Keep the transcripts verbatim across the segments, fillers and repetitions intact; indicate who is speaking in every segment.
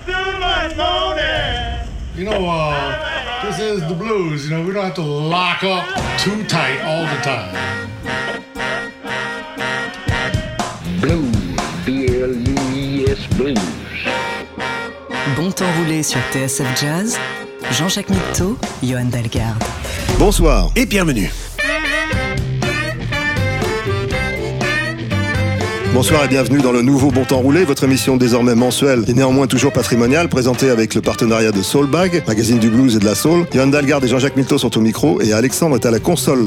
Speaker 1: too much moaning.
Speaker 2: You know, uh, this is the blues. You know, we don't have to lock up too tight all the time.
Speaker 3: Blues, B L U E S Blues.
Speaker 4: Bon temps roulé sur T S F Jazz, Jean-Jacques Mitteau, Johan Dalgarde.
Speaker 5: Bonsoir et bienvenue. Bonsoir et bienvenue dans le nouveau Bon Temps Roulé, votre émission désormais mensuelle et néanmoins toujours patrimoniale, présentée avec le partenariat de Soulbag, magazine du blues et de la soul. Johan Dalgarde et Jean-Jacques Mitteau sont au micro et Alexandre est à la console.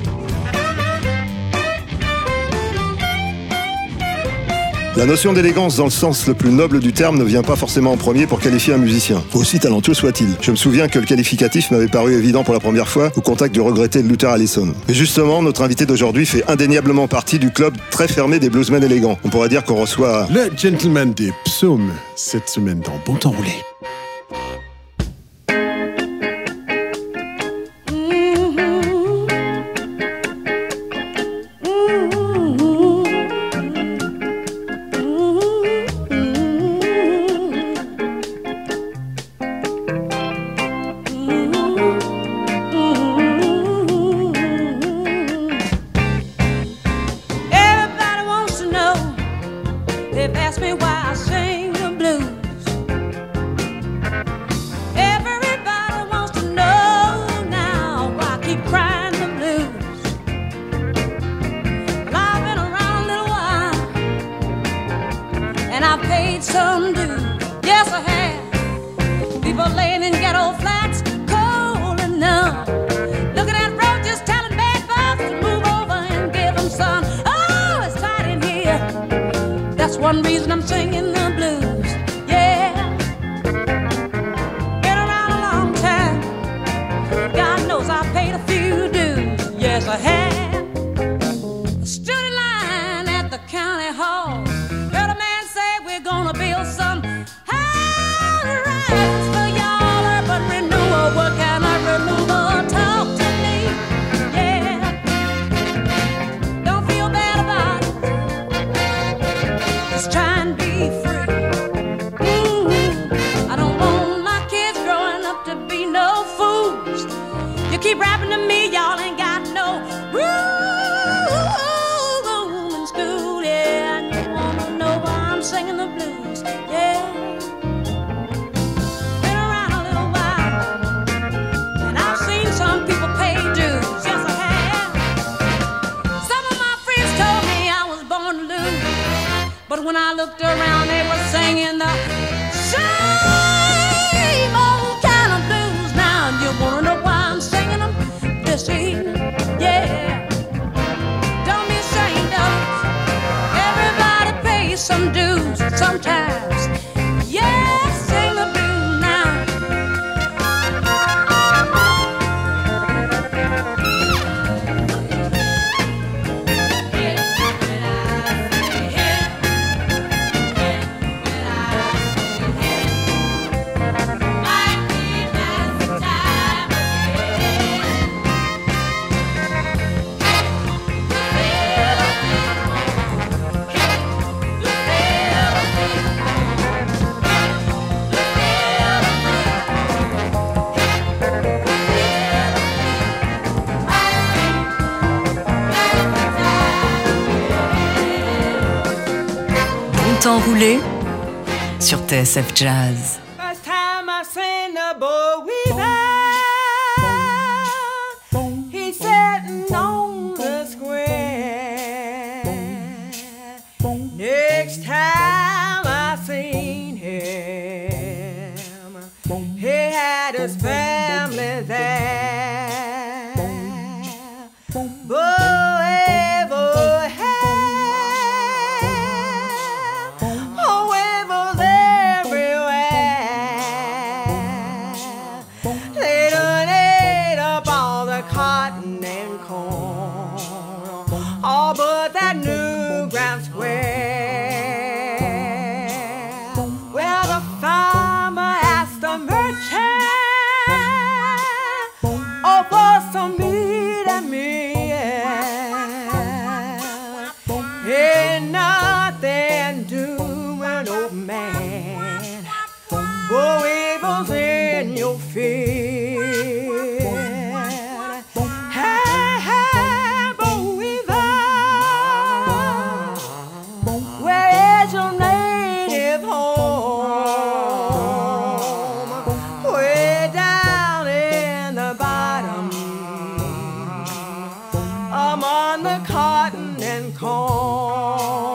Speaker 5: La notion d'élégance dans le sens le plus noble du terme ne vient pas forcément en premier pour qualifier un musicien, aussi talentueux soit-il. Je me souviens que le qualificatif m'avait paru évident pour la première fois au contact du regretté Luther Allison. Mais justement, notre invité d'aujourd'hui fait indéniablement partie du club très fermé des bluesmen élégants. On pourrait dire qu'on reçoit
Speaker 6: le gentleman des psaumes cette semaine dans Bon Temps Roulé.
Speaker 7: One reason I'm singing the blues, yeah. Been around a long time. God knows I paid a few dues, yes I have. Stood in line at the county hall. Heard a man say we're gonna build some high rises for y'all. Urban renewal, what kind of renewal? Talk to me, yeah. Don't feel bad about it. Just try and be free. Mm-hmm. I don't want my kids growing up to be no fools. You keep rapping to me, y'all ain't got no room in school, yeah. And you wanna know why I'm singing the blues, yeah. Been around a little while, and I've seen some people pay dues, yes I have. Some of my friends told me I was born to lose. But when I looked around, they were singing the same old kind of blues. Now, you wanna know why I'm singing them this evening? Yeah. Don't be ashamed of it. Everybody pays some dues sometimes. Yeah, sing the blues now.
Speaker 4: Temps roulé sur T S F Jazz.
Speaker 7: First time I seen the boy weaving, he's sitting on the square. Next time I seen him, he had his family there. Boy, boy, Oh, evil's in your feet. Hey, hey, boy, where is your native home? Way down in the bottom, among the cotton and corn.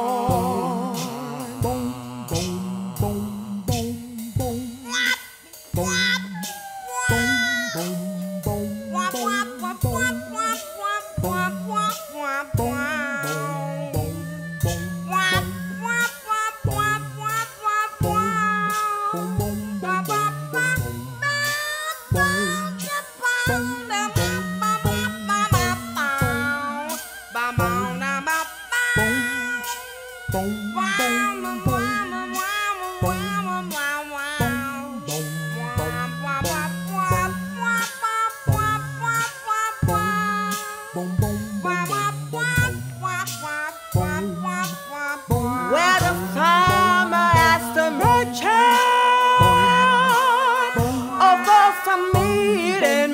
Speaker 7: Where the farmer asked the merchant of for some meat and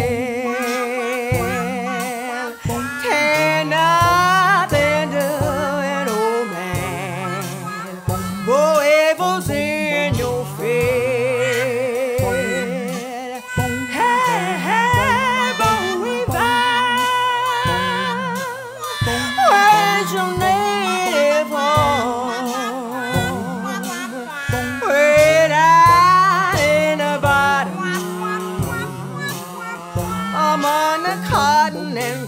Speaker 7: meal, can nothing do an old man, for evil's in your feet. Hey, hey, boy, where's your native home? Way down in the bottom, among the cotton and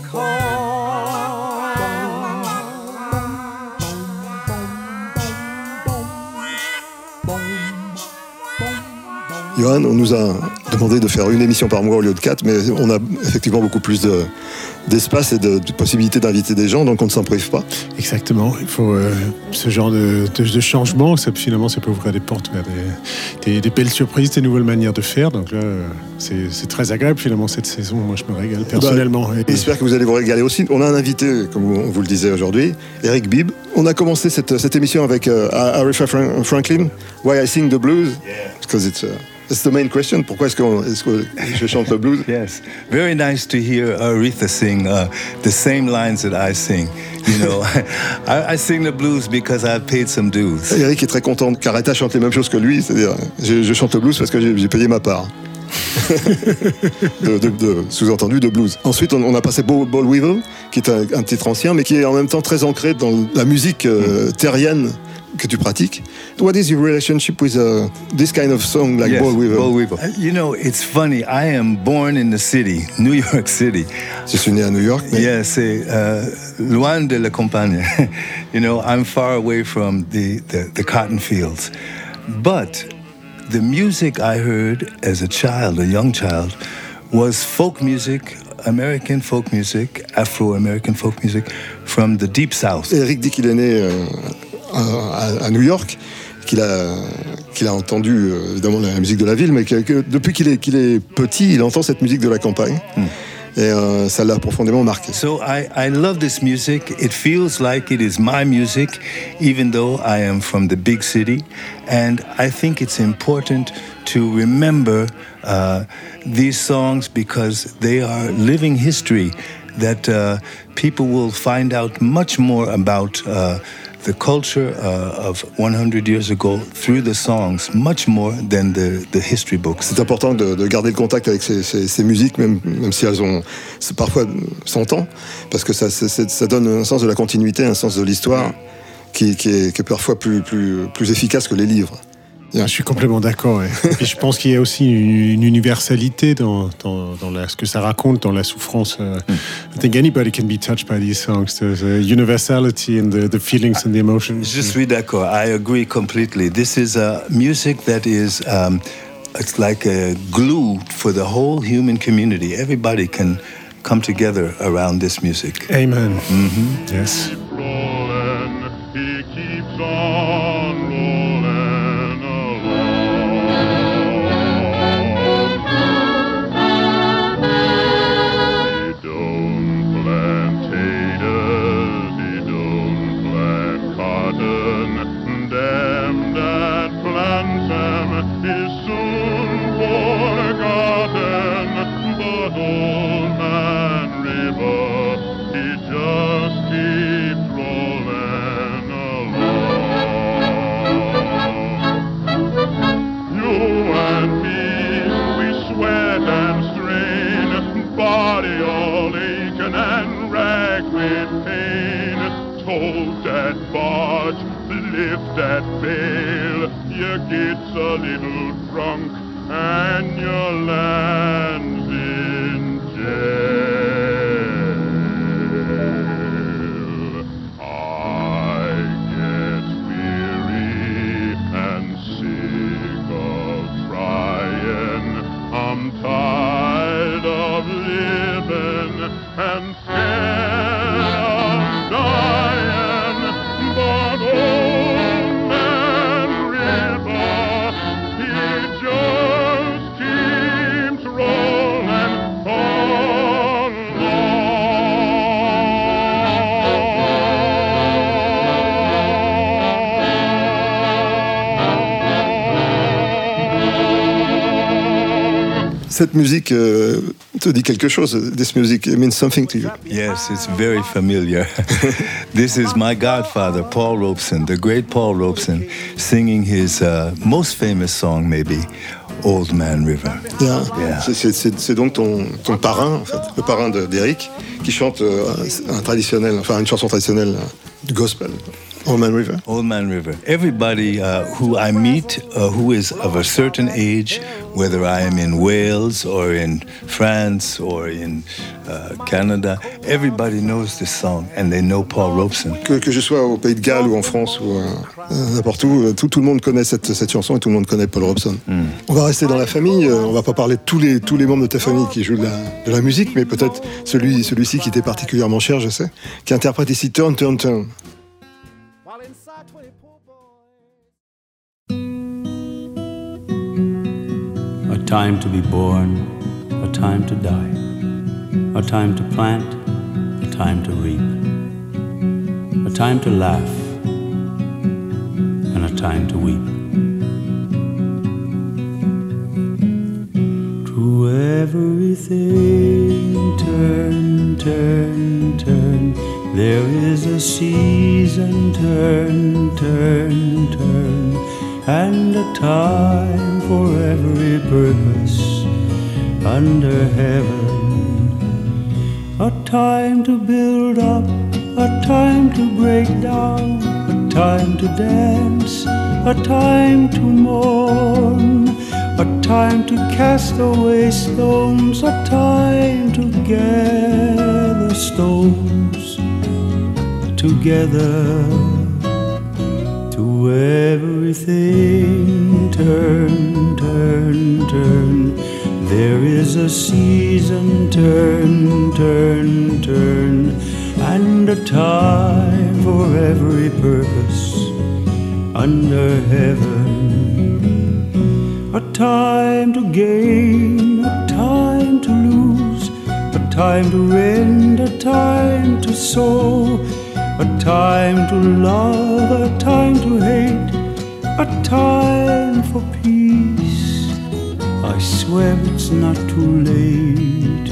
Speaker 5: Johan, on nous a demandé de faire une émission par mois au lieu de quatre, mais on a effectivement beaucoup plus de, d'espace et de, de possibilités d'inviter des gens, donc on ne s'en prive pas.
Speaker 6: Exactement, il faut euh, ce genre de, de, de changement, ça, finalement ça peut ouvrir des portes vers des, des, des belles surprises, des nouvelles manières de faire, donc là c'est, c'est très agréable finalement cette saison, moi je me régale personnellement.
Speaker 5: Bah, et... J'espère que vous allez vous régaler aussi. On a un invité, comme on vous le disait aujourd'hui, Eric Bibb. On a commencé cette, cette émission avec euh, Aretha Franklin, Why I Sing the Blues, because it's... Uh, It's the main question. Pourquoi est-ce que, est-ce que je chante le blues?
Speaker 8: Yes, very nice to hear Aretha sing uh, the same lines that I sing. You know, I, I sing the blues because I've paid some dues.
Speaker 5: Eric est très content qu'Aretha chante les mêmes choses que lui, c'est-à-dire je, je chante le blues parce que j'ai, j'ai payé ma part. de, de, de, sous-entendu de blues. Ensuite, on, on a passé Boll Weevil, qui est un, un titre ancien, mais qui est en même temps très ancré dans la musique euh, terrienne que tu pratiques. What is your relationship with uh, this kind of song like
Speaker 8: yes,
Speaker 5: Boll Weevil?
Speaker 8: Boll Weevil. Uh, you know, it's funny. I am born in the city, New York City.
Speaker 5: Je suis né à New York. Mais...
Speaker 8: Yeah, c'est uh, loin de la campagne. You know, I'm far away from the, the, the cotton fields. But the music I heard as a child, a young child, was folk music, American folk music, Afro-American folk music from the Deep South.
Speaker 5: Eric dit qu'il est né euh, à, à New York, qu'il a, qu'il a entendu euh, évidemment la musique de la ville, mais que, que depuis qu'il est, qu'il est petit, il entend cette musique de la campagne. Mm. Et euh, ça l'a profondément marqué.
Speaker 8: So I, I love this music. It feels like it is my music, even though I am from the big city. And I think it's important to remember uh, these songs because they are living history that uh, people will find out much more about uh, the culture uh, of one hundred years ago through the songs, much more than the, the history books.
Speaker 5: C'est important de, de garder le contact avec ces, ces, ces musiques, même, même si elles ont c'est parfois cent ans, parce que ça, c'est, ça donne un sens de la continuité, un sens de l'histoire qui, qui, est, qui est parfois plus, plus, plus efficace que les livres.
Speaker 6: Yeah. Je suis complètement d'accord. Ouais. Et puis je pense qu'il y a aussi une universalité dans, dans, dans la, ce que ça raconte, dans la souffrance. Uh, I think anybody can be touched by these songs. There's a universality in the, the feelings and the emotions.
Speaker 8: Je suis d'accord. I agree completely. This is a music that is, um, it's like a glue for the whole human community. Everybody can come together around this music.
Speaker 6: Amen.
Speaker 8: Mm-hmm.
Speaker 6: Yes.
Speaker 1: Rolling, he keeps on rolling. Them that plant them is gets a little drunk and your land's in jail. I get weary and sick of trying. I'm tired of living and scared of dying, but old man River, he just keeps rolling
Speaker 5: Cette musique euh, te dit quelque chose. This music means something to you.
Speaker 8: Yes, it's very familiar. This is my godfather, Paul Robeson, the great Paul Robeson, singing his uh, most famous song, maybe, Old Man River.
Speaker 5: Yeah.
Speaker 8: Yeah.
Speaker 5: C'est, c'est, c'est, c'est donc ton, ton parrain, en fait, le parrain de, d'Eric, qui chante euh, un traditionnel, enfin une chanson traditionnelle euh, du gospel. Old Man River.
Speaker 8: Old Man River. Everybody uh, who I meet uh, who is of a certain age, whether I am in Wales or in France or in uh, Canada, everybody knows this song and they know Paul Robeson.
Speaker 5: Que, que je sois au Pays de Galles ou en France ou euh, n'importe où, tout, tout le monde connaît cette, cette chanson et tout le monde connaît Paul Robeson. Mm. On va rester dans la famille, euh, on va pas parler de tous les, tous les membres de ta famille qui jouent de la, de la musique, mais peut-être celui, celui-ci qui t'est particulièrement cher, je sais, qui interprète ici Turn, Turn, Turn.
Speaker 9: A time to be born, a time to die, a time to plant, a time to reap, a time to laugh, and a time to weep. To everything turn, turn, turn, there is a season, turn, turn, turn, and a time for every purpose under heaven. A time to build up, a time to break down, a time to dance, a time to mourn, a time to cast away stones, a time to gather stones together. To everything turn, turn, turn, there is a season, turn, turn, turn, and a time for every purpose under heaven. A time to gain, a time to lose, a time to rend, a time to sow, a time to love, a time to hate, a time for peace. I swear it's not too late.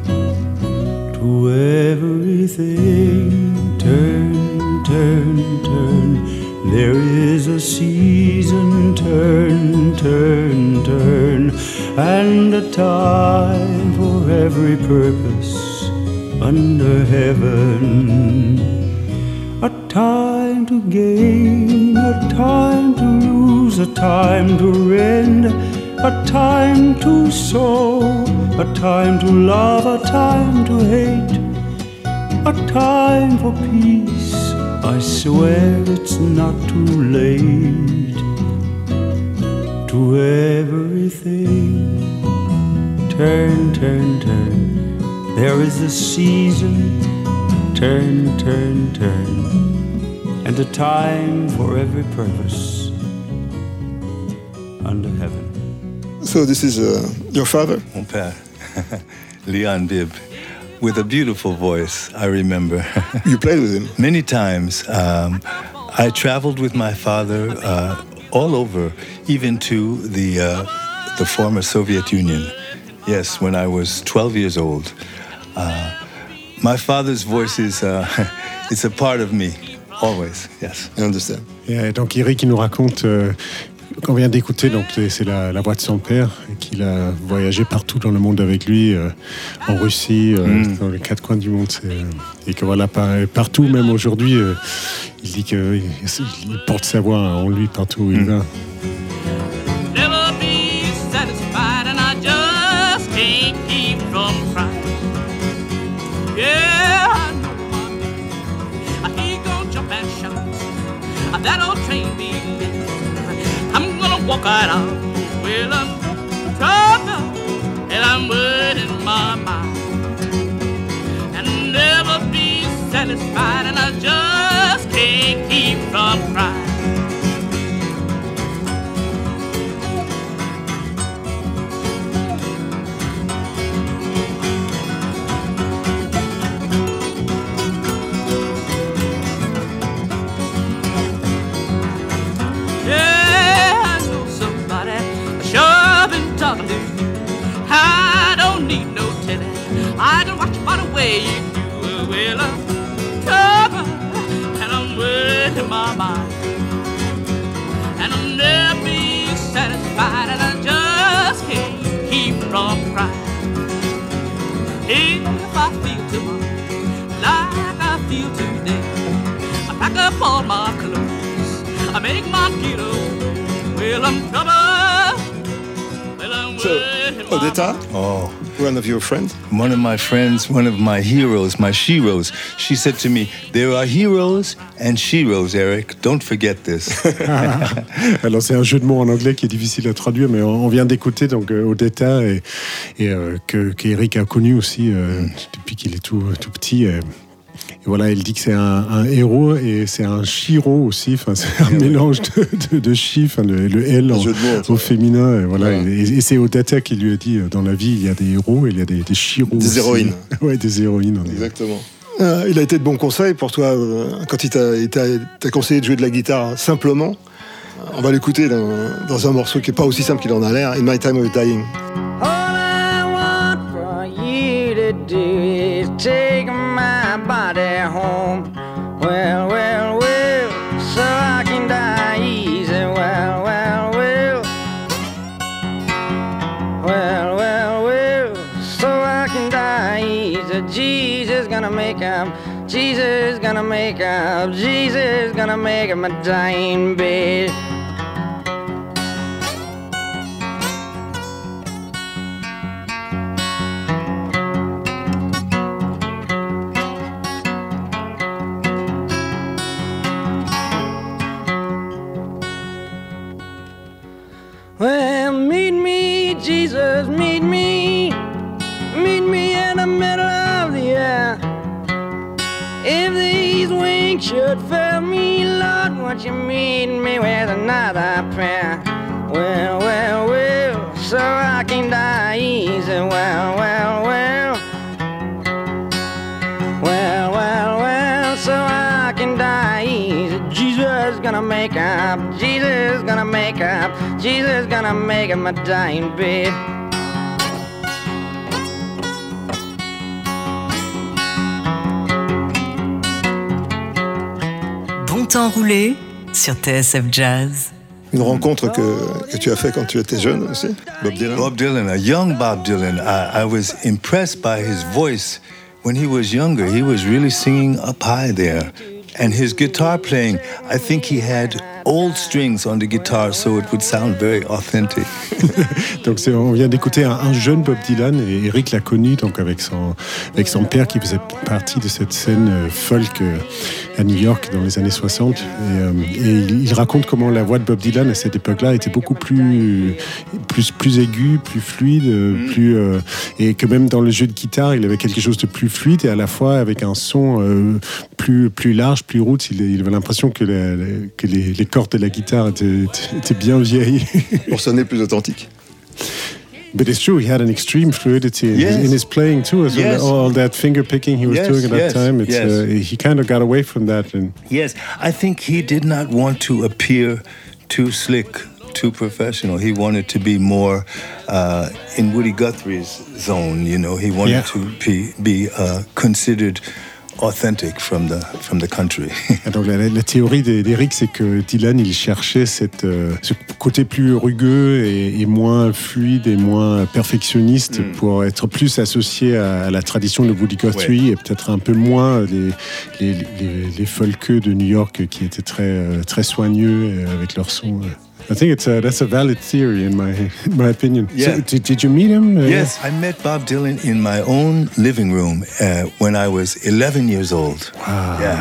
Speaker 9: To everything turn, turn, turn, there is a season, turn, turn, turn, and a time for every purpose under heaven. A time to gain, a time to lose, a time to rend, a time to sow, a time to love, a time to hate, a time for peace. I swear it's not too late. To everything turn, turn, turn, there is a season, turn, turn, turn, and a time for every purpose under heaven.
Speaker 5: So this is uh, your father?
Speaker 8: Mon père, Leon Bibb, with a beautiful voice, I remember.
Speaker 5: You played with him?
Speaker 8: Many times. Um, I traveled with my father uh, all over, even to the, uh, the former Soviet Union. Yes, when I was twelve years old. Uh, my father's voice is uh, it's a part of me, always, yes.
Speaker 5: I understand.
Speaker 6: Et donc Eric, il nous raconte... Euh, qu'on vient d'écouter, donc c'est la, la voix de son père, qu'il a voyagé partout dans le monde avec lui, euh, en Russie, euh, mm. dans les quatre coins du monde. C'est, et que voilà, par, partout, même aujourd'hui, euh, il dit qu'il il porte sa voix en lui partout où il mm. va.
Speaker 10: walk right out. Well, I'm trouble, and I'm worried in my mind, and never be satisfied, and I just can't keep from crying. I don't need no telling. I can watch by the way you do. Well, I'm troubled and I'm worried in my mind, and I'll never be satisfied, and I just can't keep from crying. If I feel tomorrow like I feel today, I pack up all my clothes, I make my getaway. Well, I'm troubled.
Speaker 5: So, Odetta,
Speaker 8: oh,
Speaker 5: one of your friends?
Speaker 8: One of my friends, one of my heroes, my sheroes. She said to me, there are heroes and sheroes, Eric. Don't forget this.
Speaker 6: Alors, c'est un jeu de mots en anglais qui est difficile à traduire, mais on vient d'écouter donc euh, Odetta et, et euh, que qu'Eric a connu aussi euh, mm. depuis qu'il est tout, tout petit. Euh. Et voilà, il dit que c'est un, un héros et c'est un chiro aussi. Enfin, c'est un ouais. mélange de, de, de chi, enfin, le, le L en, mots, au féminin. Et, voilà. Ouais. et, et c'est Odetta qui lui a dit dans la vie, il y a des héros et il y a des, des chiros.
Speaker 5: Des aussi. héroïnes.
Speaker 6: Ouais, des héroïnes.
Speaker 5: Exactement. Euh, il a été de bon conseil pour toi euh, quand il t'a, il t'a, t'a conseillé de jouer de la guitare simplement. On va l'écouter dans, dans un morceau qui n'est pas aussi simple qu'il en a l'air, In My Time of Dying.
Speaker 11: All I want for you to do is take my body home. Well, well, well, so I can die easy. Well, well, well. Well, well, well, so I can die easy. Jesus gonna make him, Jesus gonna make him, Jesus gonna make him a dying bed. Well, meet me, Jesus, meet me, meet me in the middle of the air. If these wings should fail me, Lord, won't you meet me with another prayer? Well, well, well, so I can die easy. Well, well, well, well, well, well, so I can die easy. Jesus gonna make up, Jesus gonna make up, Jesus gonna make him a dying bed.
Speaker 4: Bon temps roulé sur T S F Jazz.
Speaker 5: Une rencontre que, que tu as fait quand tu étais jeune aussi, Bob Dylan.
Speaker 8: Bob Dylan, a young Bob Dylan. I, I was impressed by his voice. When he was younger, he was really singing up high there. And his guitar playing, I think he had old strings on the guitar, so it would sound very authentic.
Speaker 6: Donc c'est, on vient d'écouter un, un jeune Bob Dylan, et Eric l'a connu donc avec son, avec son père qui faisait partie de cette scène folk à New York dans les années soixante. Et, euh, et il, il raconte comment la voix de Bob Dylan à cette époque-là était beaucoup plus, plus, plus aiguë, plus fluide, mm. plus, euh, et que même dans le jeu de guitare, il avait quelque chose de plus fluide et à la fois avec un son euh, plus, plus large, plus roots. Il, il avait l'impression que, la, la, que les, les cordes de la guitare étaient, étaient bien vieilles.
Speaker 5: Pour sonner plus authentique.
Speaker 6: But it's true, he had an extreme fluidity in,
Speaker 8: yes.
Speaker 6: his, in his playing too, as
Speaker 8: yes.
Speaker 6: well. All that finger picking he was
Speaker 8: yes,
Speaker 6: doing at that
Speaker 8: yes,
Speaker 6: time. It's,
Speaker 8: yes.
Speaker 6: uh, he kind of got away from that. And
Speaker 8: yes, I think he did not want to appear too slick, too professional. He wanted to be more uh, in Woody Guthrie's zone. You know, he wanted yeah. to be, be uh, considered authentic from the from the country.
Speaker 6: Donc la, la théorie d'Eric, c'est que Dylan, il cherchait cette, euh, ce côté plus rugueux et, et moins fluide et moins perfectionniste mm. pour être plus associé à, à la tradition de Woody Guthrie ouais. et peut-être un peu moins les les, les, les folkeux de New York qui étaient très très soigneux avec leur son. I think it's a, that's a valid theory in my in my opinion.
Speaker 8: Yeah.
Speaker 6: So, did, did you meet him? Uh,
Speaker 8: yes, I met Bob Dylan in my own living room uh, when I was eleven years old.
Speaker 6: Wow.
Speaker 8: Yeah.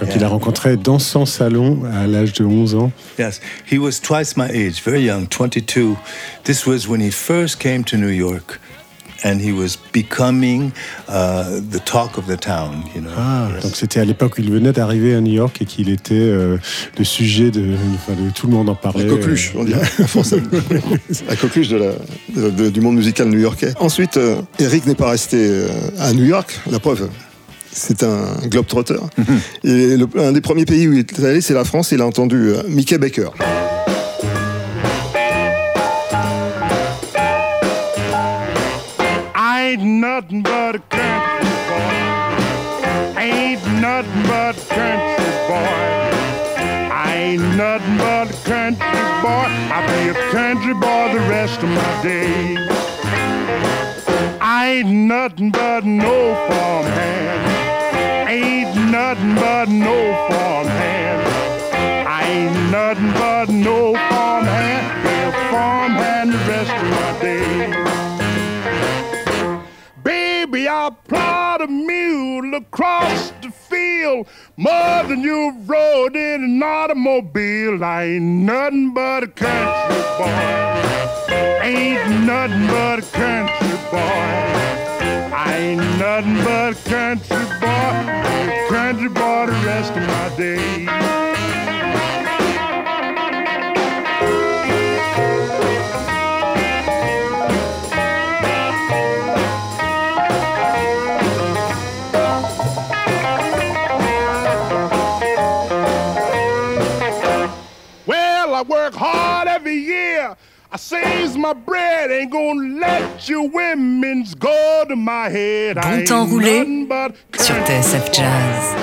Speaker 6: Donc
Speaker 8: Yeah.
Speaker 6: il a rencontré dans son salon à l'âge de onze ans.
Speaker 8: Yes, he was twice my age, very young, twenty-two. This was when he first came to New York, and he was becoming uh, the talk of the town, you know.
Speaker 6: Ah,
Speaker 8: Yes.
Speaker 6: donc c'était à l'époque où il venait d'arriver à New York et qu'il était euh, le sujet de, enfin, de tout le monde en parlait.
Speaker 5: La coqueluche, on dirait en français. La coqueluche de la, de- de- du monde musical new-yorkais. Ensuite, euh, Eric n'est pas resté euh, à New York, la preuve. C'est un globe-trotter. Et le- un des premiers pays où il est allé, c'est la France. Et il a entendu euh, Mickey Baker.
Speaker 1: I ain't nothing but a country boy. Ain't nothing but a country boy. I ain't nothing but a country boy. I'll be a country boy the rest of my days. I ain't nothing but no farmhand. Ain't nothing but no farmhand. I ain't nothing but no farmhand. Be a farmhand the rest of my days. Baby, I'll plod a mule across the field more than you've rode in an automobile. I ain't nothing but a country boy. Ain't nothing but a country boy. I ain't nothing but a country boy. A country boy the rest of my days. Well, I work hard every year. I saves my bread. Ain't gonna let you women's go to my head. I
Speaker 4: Bon temps
Speaker 1: ain't
Speaker 4: roulé
Speaker 1: nothing but
Speaker 4: sur T S F Jazz.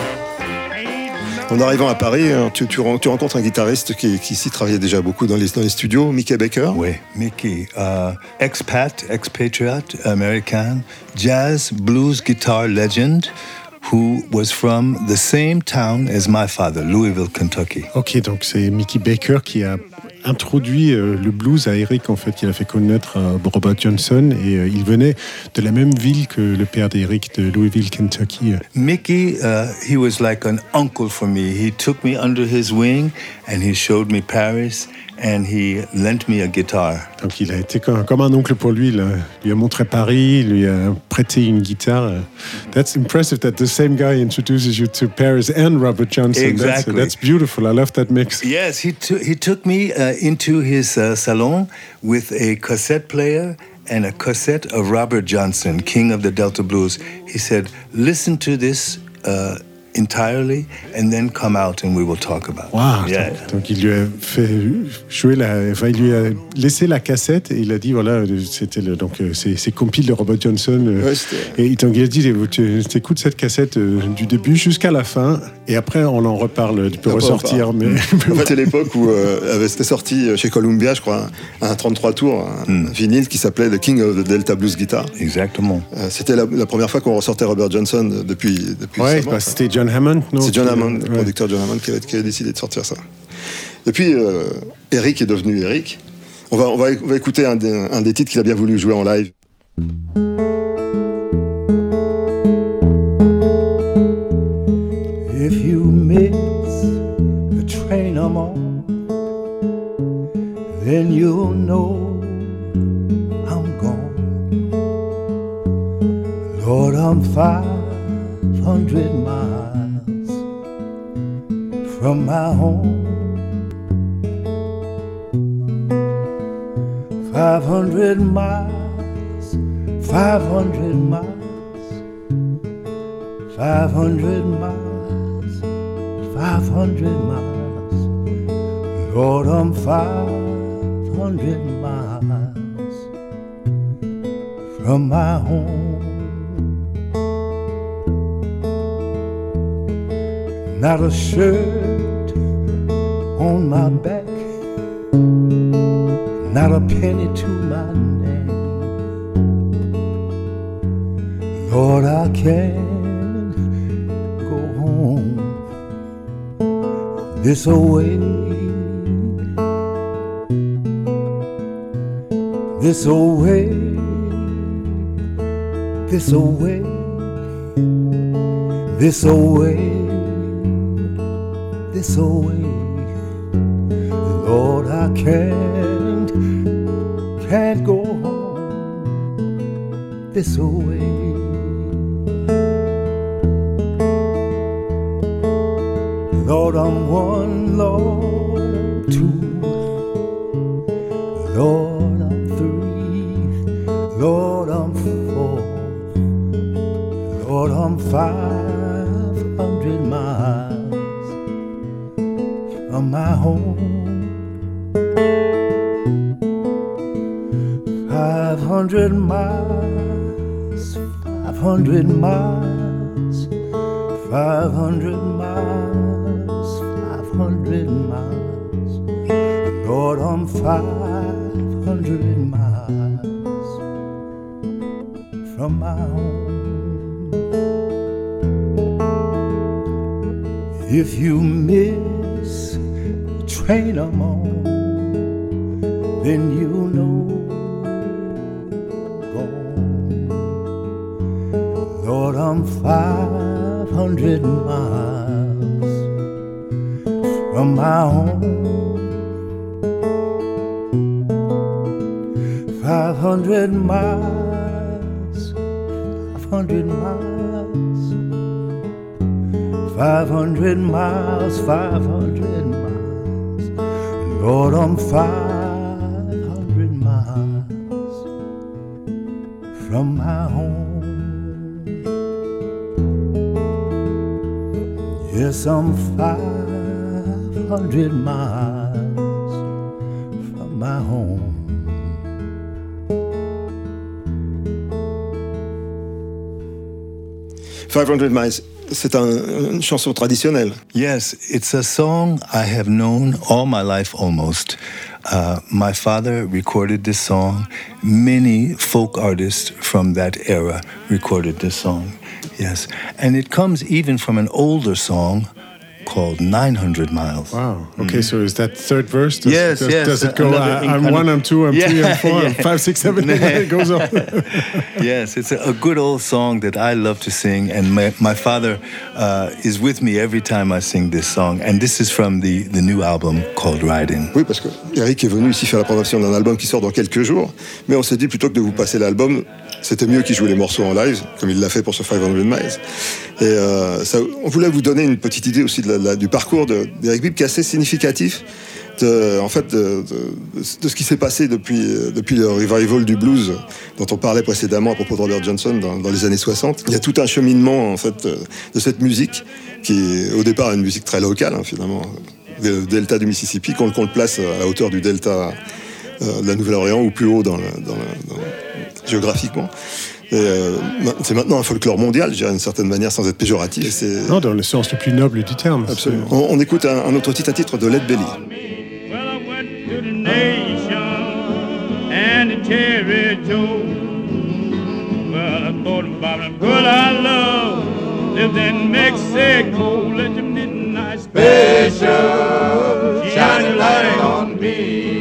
Speaker 5: En arrivant à Paris, hein, tu, tu, ren- tu rencontres un guitariste qui, qui ici travaillait déjà beaucoup dans les, dans les studios, Mickey Baker.
Speaker 8: Oui, Mickey, uh, expat, expatriate, American, jazz, blues guitar legend, who was from the same town as my father, Louisville, Kentucky.
Speaker 6: Ok, donc c'est Mickey Baker qui a introduit euh, le blues à Eric, en fait, qu'il a fait connaître à Robert Johnson, et euh, il venait de la même ville que le père d'Eric, de Louisville, Kentucky.
Speaker 8: Mickey, uh, he was like an uncle for me. He took me under his wing and he showed me Paris and he lent me a guitar.
Speaker 6: Donc il a été comme, comme un oncle pour lui, il a- lui a montré Paris, il lui a prêté une guitare. That's impressive that the same guy introduces you to Paris and Robert Johnson.
Speaker 8: Exactly.
Speaker 6: That's, that's beautiful, I love that mix.
Speaker 8: Yes, he, t- he took me uh, into his uh, salon with a cassette player and a cassette of Robert Johnson, King of the Delta Blues. He said, listen to this uh, entirely and then come out and we will talk about it.
Speaker 6: Wow.
Speaker 8: Yeah.
Speaker 6: Donc, donc il lui a fait jouer la, enfin, il lui a laissé la cassette et il a dit voilà, c'était le, donc euh, c'est c'est compile de Robert Johnson euh,
Speaker 5: Ouais, c'était-
Speaker 6: et donc il a dit tu écoutes cette cassette euh, du début jusqu'à la fin et après on en reparle, tu peux
Speaker 5: Après, on
Speaker 6: ressortir
Speaker 5: parle.
Speaker 6: mais,
Speaker 5: En fait, c'est l'époque où euh, avait- c'était sorti chez Columbia, je crois, un, un trente-trois tours, un
Speaker 8: Mm.
Speaker 5: vinyle qui s'appelait The King of the Delta Blues Guitar.
Speaker 8: Exactement.
Speaker 5: Euh, c'était la, la première fois qu'on ressortait Robert Johnson depuis, depuis
Speaker 6: ouais,
Speaker 5: sa mort,
Speaker 6: bah,
Speaker 5: quoi.
Speaker 6: c'était John Hammond, non
Speaker 5: C'est John
Speaker 6: qui-
Speaker 5: Hammond, le
Speaker 6: ouais.
Speaker 5: producteur John Hammond, qui avait, qui avait décidé de sortir ça. Et puis, euh, Eric est devenu Eric. On va, on va, on va écouter un des, un des titres qu'il a bien voulu jouer en live.
Speaker 12: If you miss the train I'm on, then you'll know I'm gone. Lord, I'm five hundred miles from my home. Five hundred miles, five hundred miles. Five hundred miles, five hundred miles. Lord, I'm five hundred miles from my home. Not a shirt on my back, not a penny to my name. Lord, I can't this away, this away, this away, this away, this away. Lord, I can't, can't go home this away. Lord, I'm one, Lord, I'm two, Lord, I'm three, Lord, I'm four, Lord, I'm five hundred miles from my home. Five hundred miles, five hundred miles, five hundred miles, five hundred miles. Lord, I'm five hundred miles from my home. If you miss the train I'm on, then you know gone. Lord, I'm five hundred miles from my home. Five hundred miles, five hundred miles, five hundred miles, five hundred miles. Lord, I'm five hundred miles from my home. Yes, I'm five hundred miles from my home.
Speaker 5: five hundred miles, c'est un, une chanson traditionnelle.
Speaker 8: Yes, it's a song I have known all my life almost. Uh, my father recorded this song. Many folk artists from that era recorded this song. Yes, and it comes even from an older song called nine hundred miles.
Speaker 6: Wow. Okay, mm. So is that third verse? Does,
Speaker 8: yes,
Speaker 6: does,
Speaker 8: yes.
Speaker 6: Does it go, I, I'm one, I'm two, I'm yeah, three, I'm four, yeah. I'm five, six, seven, eight, it goes on.
Speaker 8: Yes, it's a, a good old song that I love to sing, and my, my father uh, is with me every time I sing this song, and this is from the, the new album called Riding.
Speaker 5: Oui, parce que Eric est venu ici faire la présentation d'un album qui sort dans quelques jours, mais on s'est dit plutôt que de vous passer l'album, c'était mieux qu'il joue les morceaux en live, comme il l'a fait pour ce five hundred miles. Et euh, ça, on voulait vous donner une petite idée aussi de la, la, du parcours de, d'Eric Bibb qui est assez significatif de, en fait, de, de, de ce qui s'est passé depuis, depuis le revival du blues dont on parlait précédemment à propos de Robert Johnson dans, dans les années soixante. Il y a tout un cheminement en fait, de cette musique qui est au départ une musique très locale, hein, finalement, le delta du Mississippi, qu'on, qu'on le place à la hauteur du delta euh, de la Nouvelle-Orléans ou plus haut dans le, dans le, dans le, géographiquement. Et euh, c'est maintenant un folklore mondial, je dirais d'une certaine manière, sans être péjoratif. Et c'est...
Speaker 6: Non, dans le sens le plus noble du terme.
Speaker 5: Absolument. On, on écoute un, un autre titre, un titre de Lead Belly.
Speaker 13: Well, I went to the nation and the territory. Well, I thought about a girl I love lived in Mexico. Let the midnight special shine a light on me.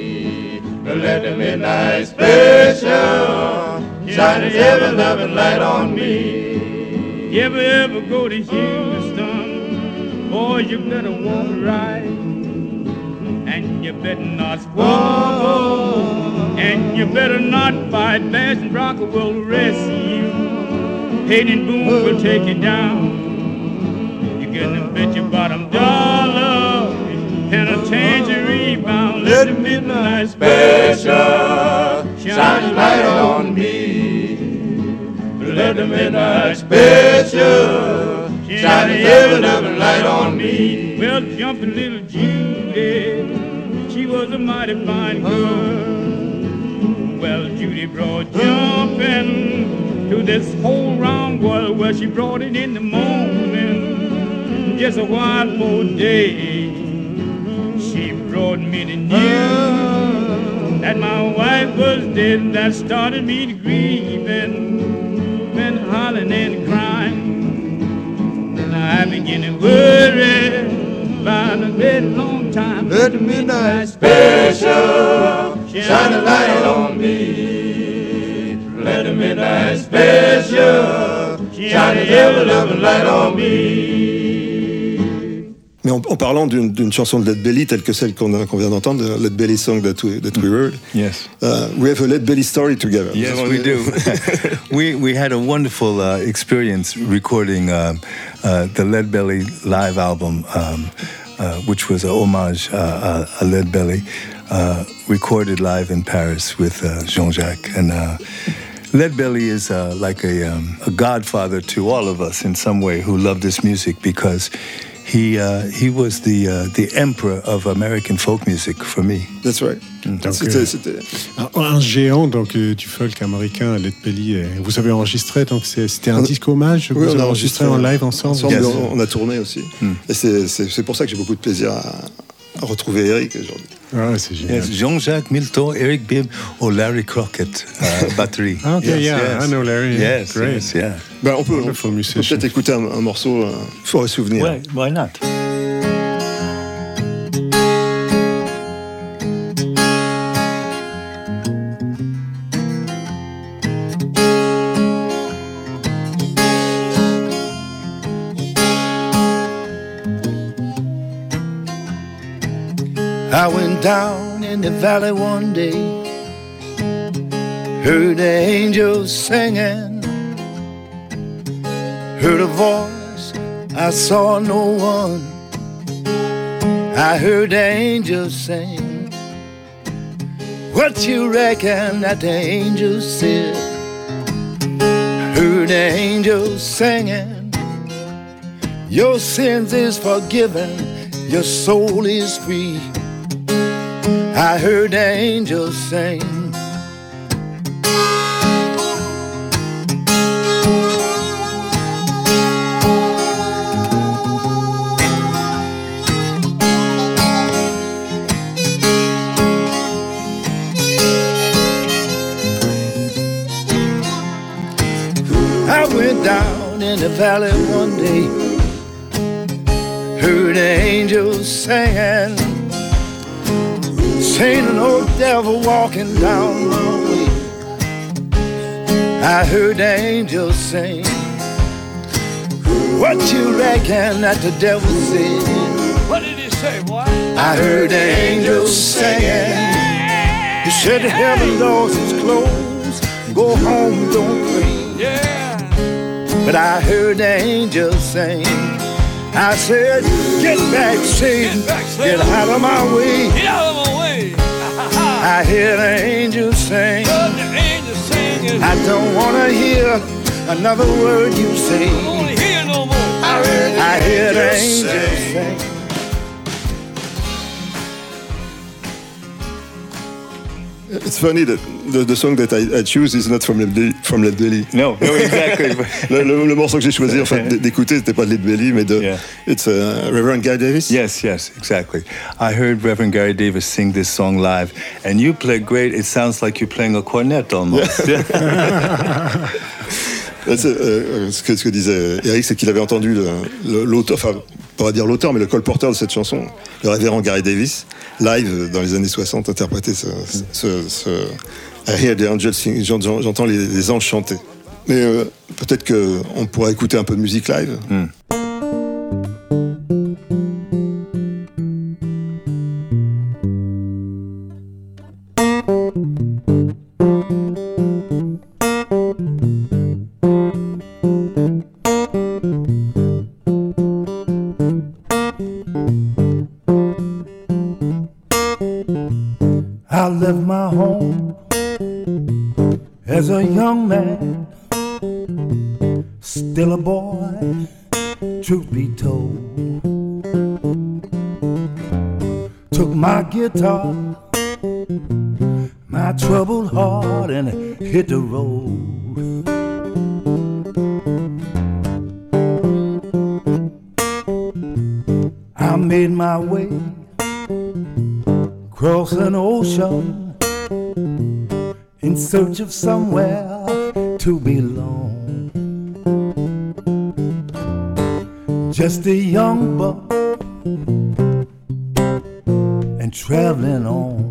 Speaker 13: Let the midnight special shine a ever-loving light on me. You ever, ever go to Houston, boy, you better walk right. And you better not squabble, and you better not fight. Bass and Bronco will arrest you. Hayden Boone will take you down. You're gonna bet your bottom dollar and a tangerine bound. Let the midnight special shine a light on me. Let the midnight special shine a ever-loving light on me. Well, jumping little Judy, she was a mighty fine girl. Well, Judy brought jumping to this whole round world. Well, she brought it in the morning, just a while for day. She brought me the news that my wife was dead. That started me to grieve and been hollering and crying. And I began to worry about a very long time. Let the midnight special shine a light on me. Let the midnight special shine a ever-loving light on me.
Speaker 5: Mais en, en parlant d'une, d'une chanson de Lead Belly telle que celle qu'on, a, qu'on vient d'entendre, Lead Belly Song That We, that we Heard,
Speaker 8: yes.
Speaker 5: uh, we have a Lead Belly story together.
Speaker 8: Yes, we do. we we had a wonderful uh, experience recording uh, uh, the Lead Belly live album, um, uh, which was a homage uh, uh, a Lead Belly, uh, recorded live in Paris with uh, Jean-Jacques. And uh, Lead Belly is uh, like a, um, a godfather to all of us in some way who love this music, because He uh, he was the uh, the emperor of American folk music for me.
Speaker 5: That's right.
Speaker 6: Donc,
Speaker 5: c'était,
Speaker 6: euh,
Speaker 5: c'était...
Speaker 6: Un, un géant donc euh, du folk américain, Lead Belly. Euh, vous avez enregistré, donc c'est, c'était un on, disque hommage.
Speaker 5: Oui,
Speaker 6: vous
Speaker 5: on
Speaker 6: avez
Speaker 5: a
Speaker 6: enregistré,
Speaker 5: enregistré
Speaker 6: en live ensemble.
Speaker 5: ensemble
Speaker 6: Yes.
Speaker 5: on, on a tourné aussi. Mm. Et c'est, c'est, c'est pour ça que j'ai beaucoup de plaisir à, à retrouver Eric aujourd'hui.
Speaker 6: Ah, c'est génial.
Speaker 8: Yes, Jean-Jacques Milteau, Eric Bibb, or Larry Crockett, uh, batterie.
Speaker 6: Ah, okay,
Speaker 8: yes,
Speaker 6: yeah,
Speaker 8: yes.
Speaker 6: I know Larry.
Speaker 8: Yes,
Speaker 6: great.
Speaker 8: yes, yeah.
Speaker 5: Ben, on peut, on peut peut-être écouter un, un morceau euh, pour un souvenir.
Speaker 8: Ouais, why not?
Speaker 12: I went down in the valley one day, heard the angels singing, heard a voice, I saw no one. I heard the angels sing. What you reckon that the angels said? Heard the angels singing, your sins is forgiven, your soul is free. I heard the angels sing. I went down in the valley one day, heard the angels singing, seen an old devil walking down my way. I heard the angels sing. What you reckon that the devil said?
Speaker 10: What did he say, boy?
Speaker 12: I heard the angels singing. He said the heaven doors is closed, go home, don't pray.
Speaker 10: Yeah.
Speaker 12: But I heard the angels sing. I said, get back, Satan,
Speaker 10: Get back, Satan.
Speaker 12: get out of my way.
Speaker 10: Get out of my way.
Speaker 12: I hear the angels sing.
Speaker 10: Heard the angels singing.
Speaker 12: I don't want to hear another word you say.
Speaker 10: I don't want to hear no more.
Speaker 12: I hear the, I hear the angels, angels sing. sing.
Speaker 5: It's funny that the, the song that I, I choose is not from Lead Belly. From Lead Belly.
Speaker 8: No, no, exactly.
Speaker 5: le, le, le morceau que j'ai choisi, en fait, d'écouter, c'était pas de Lead Belly, mais de.
Speaker 8: Yeah.
Speaker 5: It's uh, Reverend Guy Davis.
Speaker 8: Yes, yes, exactly. I heard Reverend Gary Davis sing this song live, and you play great. It sounds like you're playing a cornet almost.
Speaker 5: Yeah. euh, ce, que, ce que disait Eric, c'est qu'il avait entendu le, le, l'auteur, enfin, on va dire l'auteur, mais le colporteur de cette chanson, le révérend Gary Davis, live dans les années soixante, interpréter ce, ce, ce I hear the angels sing, j'entends les, les anges chanter. Mais euh, peut-être qu'on pourrait écouter un peu de musique live.
Speaker 8: Mm.
Speaker 12: I left my home as a young man, still a boy, truth be told. Took my guitar, my troubled heart, and hit the road. I made my way across an ocean in search of somewhere to belong. Just a young buck and traveling on.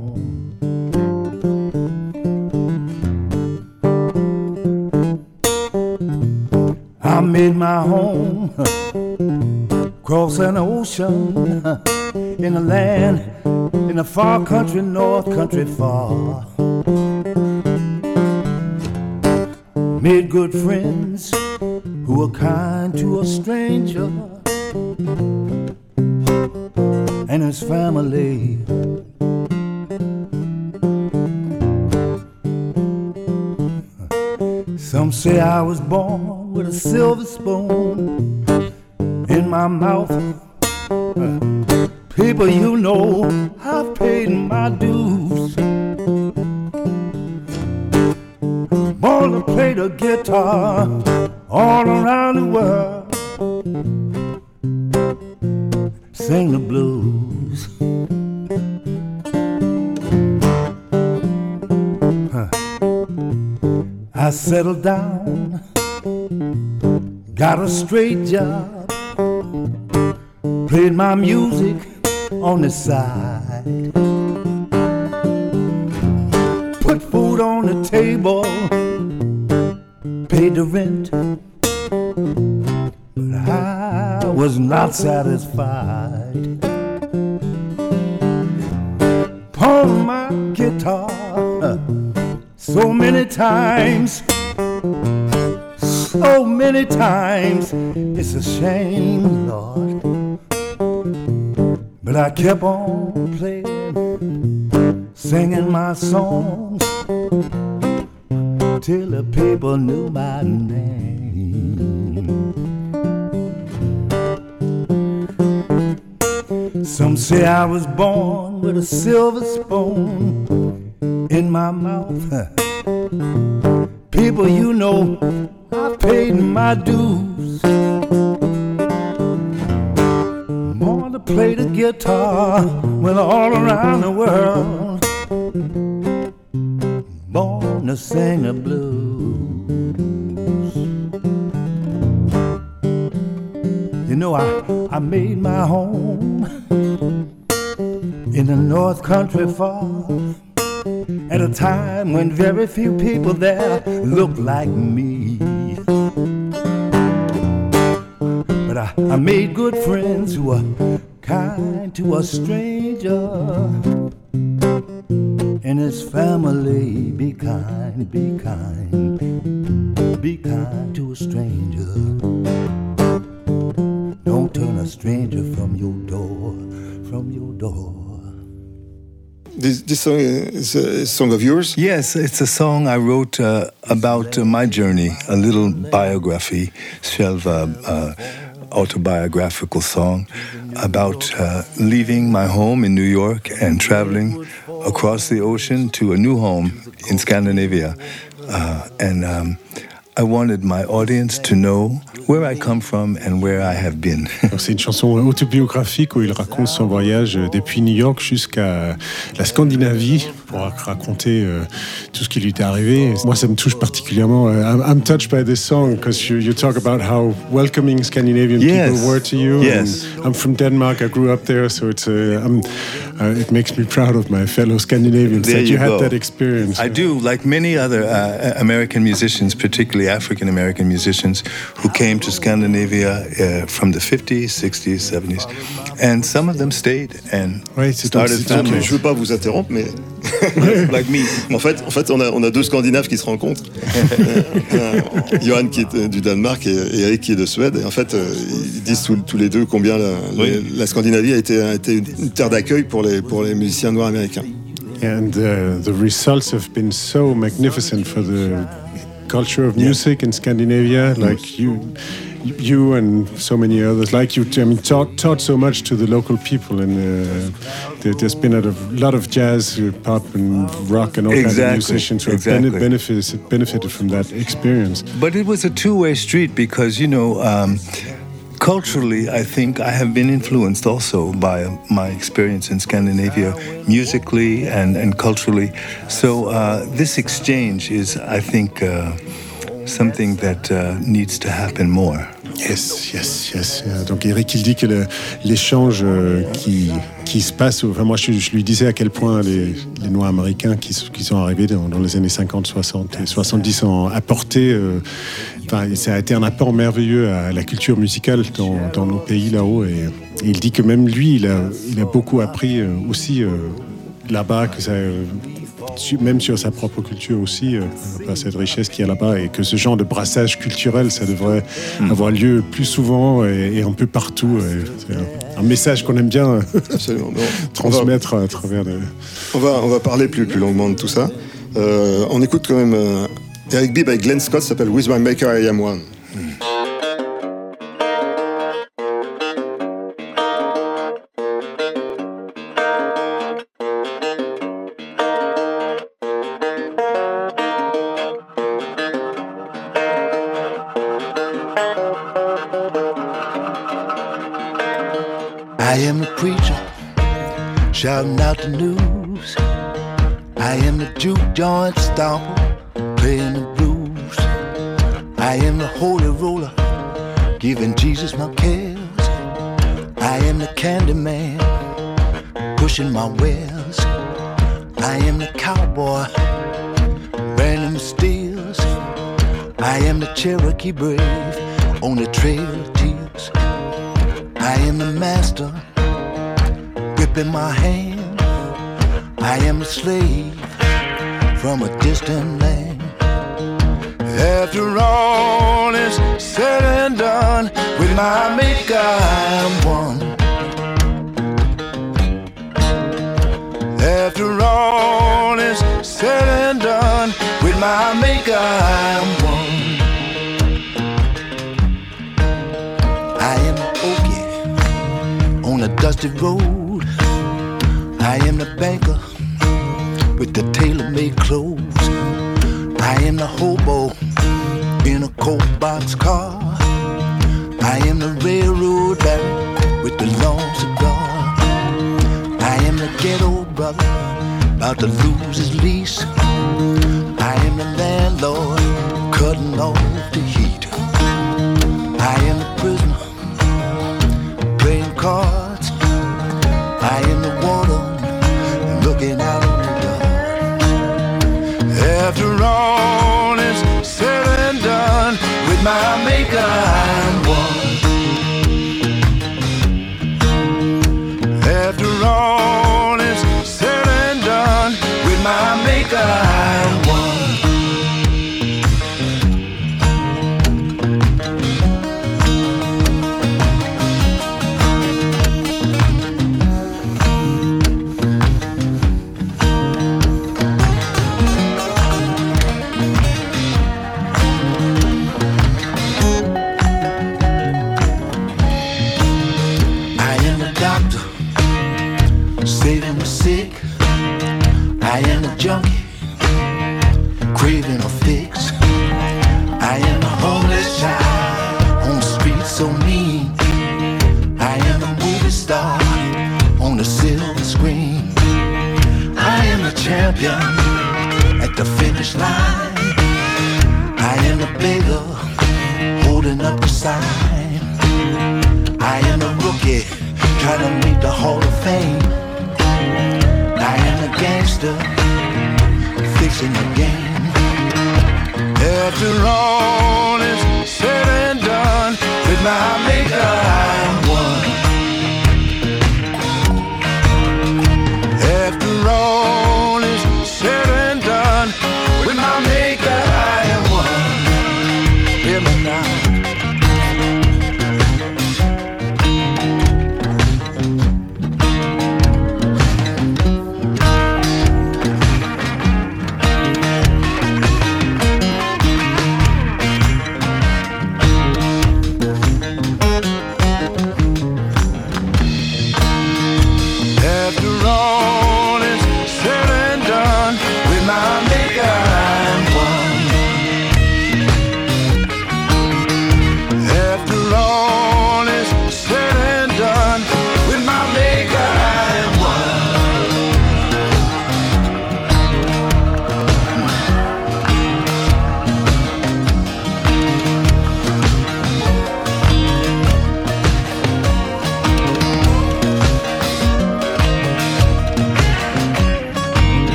Speaker 12: I made my home across across an ocean, in a land, in a far country, north country far. Made good friends who were kind to a stranger and his family. Some say I was born with a silver spoon in my mouth. People, you know, I've paid my dues. Born to play the guitar all around the world, sing the blues. Huh. I settled down, got a straight job, played my music on the side, put food on the table, paid the rent, but I was not satisfied. Pawned my guitar so many times, so many times, it's a shame, Lord. But I kept on playing, singing my songs, till the people knew my name. Some say I was born with a silver spoon in my mouth. People, you know, I paid my dues. Born to play the guitar, went all around the world, born to sing the blues. You know, I, I made my home in the North Country far, at a time when very few people there looked like me. But I, I made good friends who were kind to a stranger and his family. Be kind, be kind, be kind to a stranger. Don't turn a stranger from your door, from your door.
Speaker 5: This, this song is a song of yours?
Speaker 8: Yes, it's a song I wrote uh, about uh, my journey, a little biography, sort of uh, uh, autobiographical song about uh, leaving my home in New York and traveling across the ocean to a new home in Scandinavia. Uh, and um, I wanted my audience to know where I come from and where I have been.
Speaker 6: C'est une chanson autobiographique où il raconte son voyage depuis New York jusqu'à la Scandinavie pour raconter euh, tout ce qui lui était arrivé. Moi, ça me touche particulièrement. I'm, I'm touched by this song because you, you talk about how welcoming Scandinavian
Speaker 8: yes.
Speaker 6: people were to you.
Speaker 8: Yes.
Speaker 6: And I'm from Denmark. I grew up there, so it's uh, I'm, uh, it makes me proud of my fellow Scandinavians
Speaker 8: there
Speaker 6: that you,
Speaker 8: you
Speaker 6: had
Speaker 8: go.
Speaker 6: that experience.
Speaker 8: I do, like many other uh, American musicians, particularly African American musicians who came to Scandinavia uh, from the fifties, sixties, seventies, and some of them stayed and
Speaker 6: ouais,
Speaker 8: started families.
Speaker 5: Je veux pas vous interrompre, mais
Speaker 8: like me.
Speaker 5: En fait, en fait, on a on a deux Scandinaves qui se rencontrent. Johan qui est du Danemark et, et Eric qui est de Suède. Et en fait, ils disent tous, tous les deux combien la, oui. la, la Scandinavie a été, a été une terre d'accueil pour les pour les musiciens noirs américains.
Speaker 6: And uh, the results have been so magnificent for the culture of music yeah. in Scandinavia. Like you, you and so many others, like you, I mean, taught, taught so much to the local people, and uh, there, there's been a lot of jazz, pop, and rock, and all
Speaker 8: exactly.
Speaker 6: kinds of musicians who
Speaker 8: exactly.
Speaker 6: have benefited, benefited from that experience.
Speaker 8: But it was a two-way street because, you know, um, culturally, I think I have been influenced also by my experience in Scandinavia, musically and, and culturally. So uh, this exchange is, I think, uh, something that uh, needs to happen more.
Speaker 6: Yes, yes, yes. Donc Eric, il dit que le, l'échange euh, qui, qui se passe, enfin moi je, je lui disais à quel point les, les Noirs américains qui, qui sont arrivés dans, dans les années cinquante, soixante et soixante-dix ont apporté, euh, enfin, ça a été un apport merveilleux à la culture musicale dans, dans nos pays là-haut. Et, et il dit que même lui, il a, il a beaucoup appris euh, aussi euh, là-bas, que ça... Euh, même sur sa propre culture aussi, euh, cette richesse qu'il y a là-bas, et que ce genre de brassage culturel, ça devrait mmh. avoir lieu plus souvent et, et un peu partout. Et c'est un, un message qu'on aime bien transmettre
Speaker 5: va,
Speaker 6: à travers... De...
Speaker 5: On, va, on va parler plus, plus longuement de tout ça. Euh, on écoute quand même euh, Eric Bibb avec Glenn Scott, ça s'appelle With My Maker I Am One. Mmh.
Speaker 12: I am the preacher, shouting out the news. I am the juke joint stomper, playing the blues. I am the holy roller, giving Jesus my cares. I am the candy man, pushing my wares. I am the cowboy, branding the steers. I am the Cherokee brave, on the trail of tears. I am the master, gripping my hand. I am a slave from a distant land. After all is said and done, with my maker I am one. After all is said and done, with my maker I am one. I am Okie on a dusty road. I am the banker with the tailor-made clothes. I am the hobo in a cold box car. I am the railroad baron with the long cigar. I am the ghetto brother about to lose his lease. I am the landlord cutting off the heat. I am the prisoner playing cards. I am the water looking out on the dark. After all is said and done, with my maker I'm one. After all is said and done, with my maker I'm one. Saving the sick, I am the junkie, craving a fix. I am the homeless child on the street so mean. I am the movie star on the silver screen. I am the champion at the finish line. I am the beggar holding up the sign. I am the rookie trying to make the Hall of Fame. I am a gangster, fixing the game. After all is said and done, with my maker I'm one. After all is said and done, with my maker I am one. Hear me now.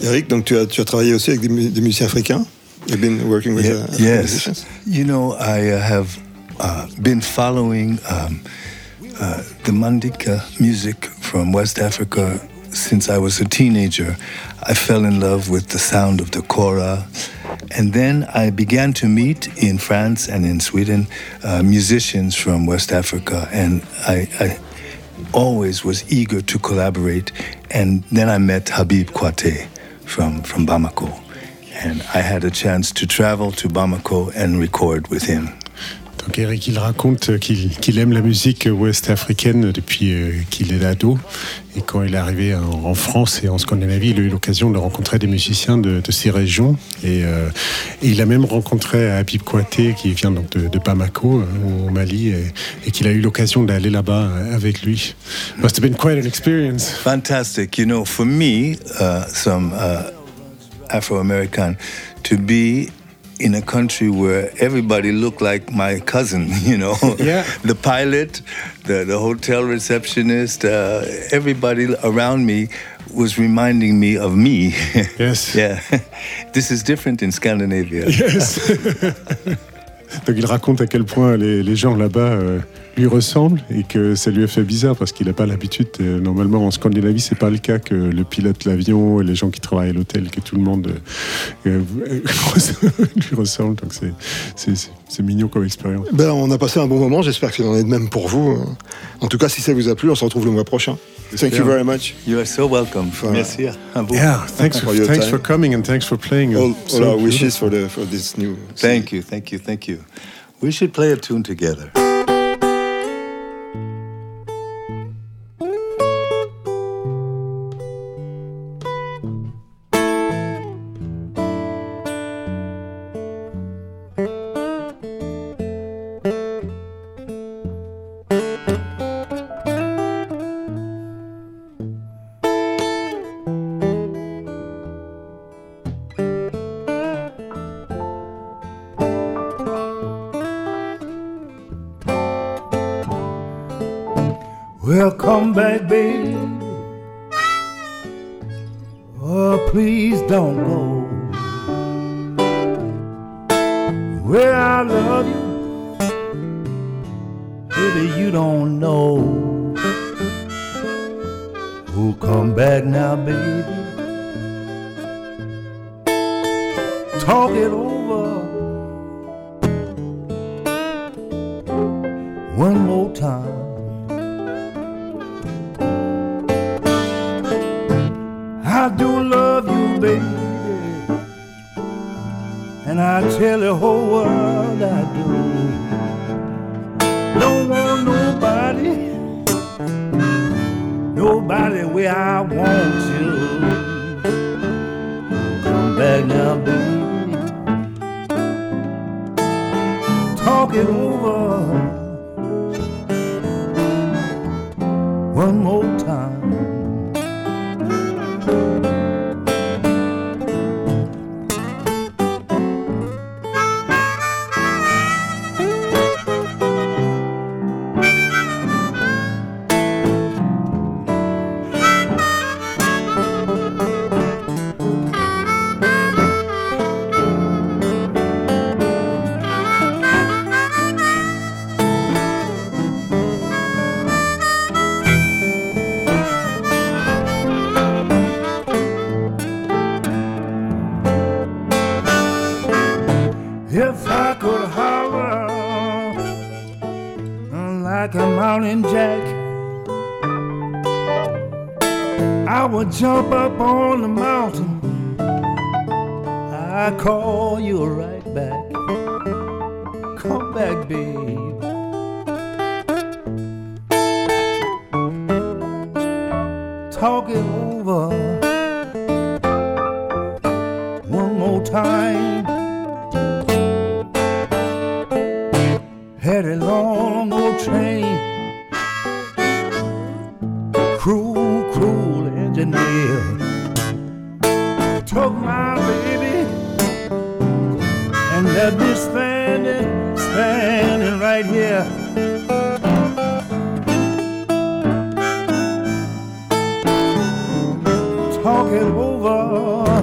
Speaker 5: Eric, donc tu as, tu as travaillé aussi avec des, mu- des musiciens africains? You've been working with
Speaker 8: Yeah,
Speaker 5: uh,
Speaker 8: yes.
Speaker 5: musicians?
Speaker 8: You know, I uh, have uh, been following um, uh, the Mandinka music from West Africa since I was a teenager. I fell in love with the sound of the kora. And then I began to meet in France and in Sweden uh, musicians from West Africa. And I, I always was eager to collaborate. And then I met Habib Kouyaté from, from Bamako. And I had a chance to travel to Bamako and record with him.
Speaker 6: Donc Eric, il raconte qu'il, qu'il aime la musique ouest-africaine depuis euh, qu'il est ado. Et quand il est arrivé en, en France et en Scandinavie, il a eu l'occasion de rencontrer des musiciens de, de ces régions. Et, euh, et il a même rencontré Habib Kouyaté, qui vient donc de, de Bamako, euh, au Mali, et, et qu'il a eu l'occasion d'aller là-bas avec lui. Must have been quite an experience.
Speaker 8: Fantastic. You know, for me, uh, some uh, Afro-American, to be in a country where everybody looked like my cousin, you know.
Speaker 6: Yeah.
Speaker 8: The pilot, the, the hotel receptionist, uh, everybody around me was reminding me of me.
Speaker 6: Yes.
Speaker 8: Yeah. This is different in Scandinavia.
Speaker 6: Yes. Donc il raconte à quel point les, les gens là-bas euh, lui ressemblent et que ça lui a fait bizarre parce qu'il n'a pas l'habitude. Euh, normalement en Scandinavie, c'est pas le cas que le pilote de l'avion et les gens qui travaillent à l'hôtel, que tout le monde euh, euh, lui ressemble. Donc c'est, c'est, c'est, c'est mignon comme expérience.
Speaker 5: Ben, on a passé un bon moment, j'espère qu'il en est de même pour vous. En tout cas, si ça vous a plu, on se retrouve le mois prochain. Thank you very much.
Speaker 8: You are so welcome. Merci.
Speaker 6: Yeah, thanks for,
Speaker 5: your
Speaker 6: thanks
Speaker 5: time.
Speaker 6: for coming and thanks for playing.
Speaker 5: All,
Speaker 6: So
Speaker 5: all our
Speaker 6: beautiful.
Speaker 5: wishes for, the, for this new...
Speaker 8: Thank you, thank you, thank you. We should play a tune together.
Speaker 12: Well, come back, baby. Oh, please don't go. Well, I love you. Baby, you don't know. Oh, come back now, baby. Talk it over one more time. I do love you, baby, and I tell the whole world I do. Don't want nobody, nobody where I want you. Come back now, baby. Talk it over one more time. If I could holler like a mountain jack, I would jump up on the mountain. I call you right back. Come back, babe. Talk it over one more time. Had a long old train, cruel, cruel engineer took my baby and left me standing, standing right here. Talk it over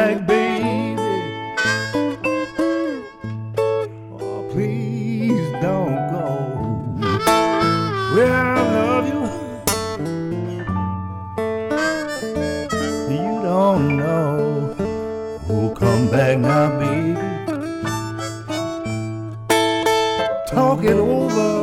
Speaker 12: back, baby. Oh, please don't go. Well, I love you. You don't know. Oh, come back now, baby. Talk it over.